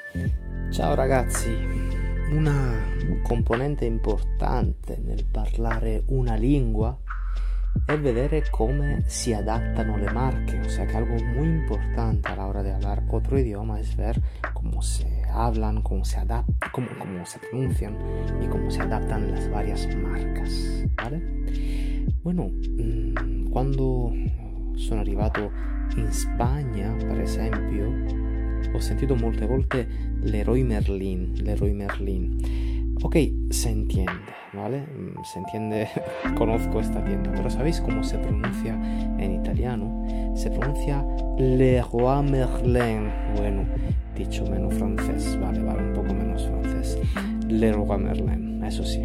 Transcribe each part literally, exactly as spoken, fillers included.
Ciao ragazzi, una componente importante nel parlare una lingua è vedere come se adattano le marche, o sea que algo muy importante a la hora de hablar otro idioma es ver cómo se hablan, cómo se adaptan, cómo, cómo se pronuncian y cómo se adaptan las varias marcas, ¿vale? Bueno, quando sono arrivato in Spagna, per esempio, ho sentito molte volte Leroy Merlin, Leroy Merlin. Ok, se entiende, ¿vale? Se entiende, conozco esta tienda, pero ¿sabéis cómo se pronuncia en italiano? Se pronuncia Leroy Merlin. Bueno, dicho menos francés, vale, vale, un poco menos francés. Leroy Merlin, eso sí.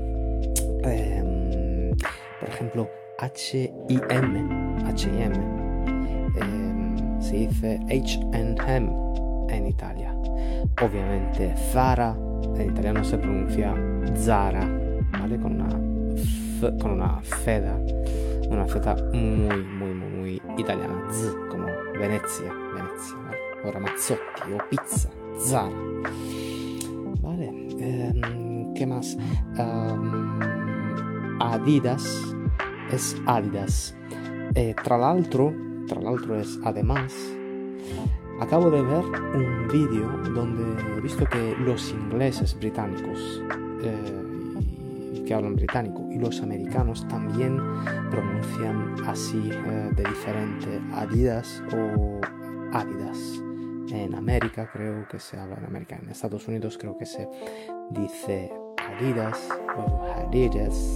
Eh, por ejemplo, H I M, H I M, eh, se dice H and M en Italia. Ovviamente Zara en italiano se pronuncia Zara, ¿vale? Con una f, con una feda, una feta muy, muy, muy, muy italiana. Z, como Venezia, Venezia, ¿vale? O Ramazzotti, o pizza, Zara. Vale, eh, ¿qué más? Um, Adidas es Adidas. Eh, tra l'altro, tra l'altro es además. Acabo de ver un vídeo donde he visto que los ingleses británicos eh, que hablan británico y los americanos también pronuncian así eh, de diferente Adidas o Adidas. En América creo que se habla en América, en Estados Unidos creo que se dice Adidas o Adidas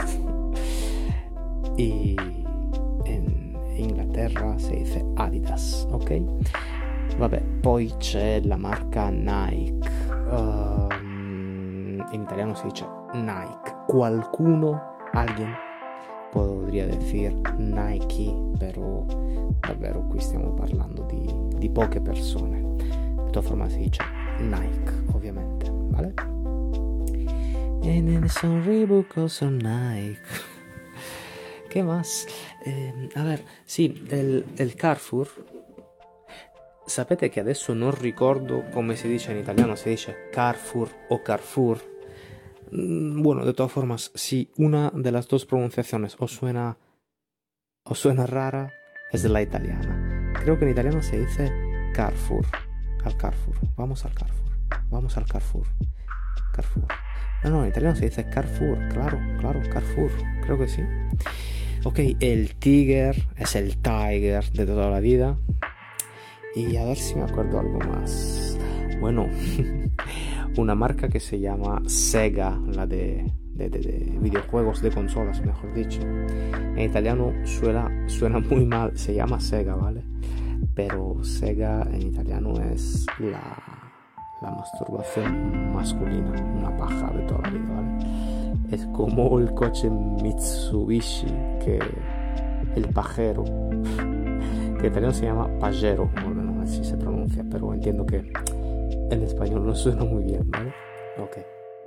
y en Inglaterra se dice Adidas, ok? Vabbè, poi c'è la marca Nike, uh, in italiano si dice Nike, qualcuno, alguien podría decir Nike, però davvero qui stiamo parlando di, di poche persone, de todas formas si dice Nike, ovviamente, ¿vale? E ne son Reebok o son Nike. ¿Qué más? Eh, a ver, sì, del, del Carrefour. Sapete che adesso non ricordo come si dice in italiano, si dice Carrefour o Carrefour. Bueno, de todas formas, si una de las dos pronunciaciones os suena, os suena rara, es la italiana. Creo que en italiano se dice Carrefour, al Carrefour, vamos al Carrefour, vamos al Carrefour, Carrefour. No, no, en italiano se dice Carrefour, claro, claro, Carrefour, creo que sí. Ok, el Tiger es el Tiger de toda la vida. Y a ver si me acuerdo algo más. Bueno, una marca que se llama Sega, la de, de, de, de videojuegos, de consolas, mejor dicho. En italiano suena, suena muy mal, se llama Sega, ¿vale? Pero Sega en italiano es la, la masturbación masculina, una paja de toda la vida, ¿vale? Es como el coche Mitsubishi, que el pajero, que en italiano si chiama Pajero, bueno, non so se pronuncia, però entiendo che en español non suena muy bien, ¿vale? Ok.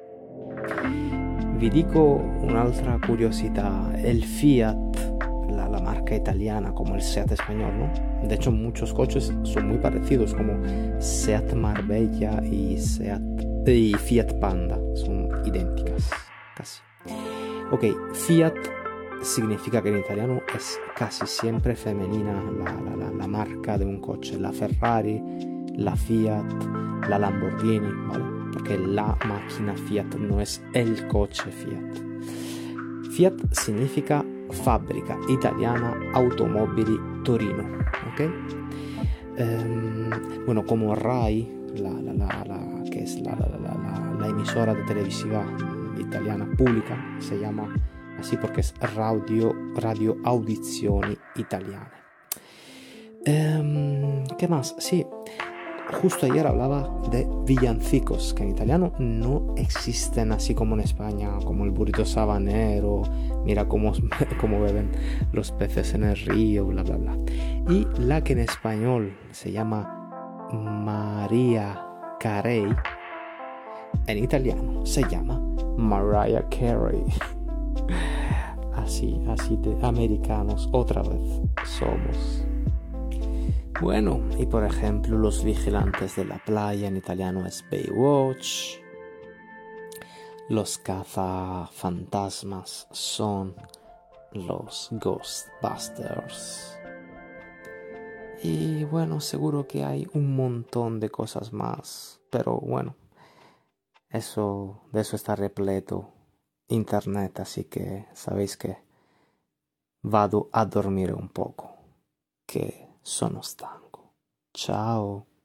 Vi dico un'altra curiosità, el Fiat, la, la marca italiana como el Seat español, ¿no? De hecho, muchos coches son muy parecidos, como Seat Marbella y, Seat, y Fiat Panda, son idénticas, casi. Ok, Fiat significa que en italiano es casi siempre femenina la, la, la, la marca de un coche, la Ferrari, la Fiat, la Lamborghini, ¿vale? Porque la máquina Fiat no es el coche Fiat. Fiat significa fabbrica italiana automobili Torino, ¿ok? Um, bueno, como RAI, la, la, la, la, que es la, la, la, la, la emisora de televisiva italiana pública, se llama así porque es radio, radio Audizioni Italiane. Um, ¿Qué más? Sí, justo ayer hablaba de villancicos, que en italiano no existen así como en España, como el burrito sabanero, mira cómo, cómo beben los peces en el río, bla, bla, bla. Y la que en español se llama Maria Carey, en italiano se llama Mariah Carey. Así, así de americanos otra vez somos. Bueno, y por ejemplo, los vigilantes de la playa en italiano es Baywatch. Los cazafantasmas son los Ghostbusters. Y bueno, seguro que hay un montón de cosas más, pero bueno, eso, de eso está repleto internet, así que sabéis que vado a dormire un poco, che sono stanco. Ciao.